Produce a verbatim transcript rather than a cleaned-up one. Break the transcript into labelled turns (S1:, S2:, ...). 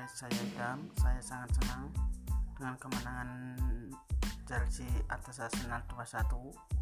S1: saya Idam. Saya sangat senang dengan kemenangan Chelsea atas Arsenal dua satu.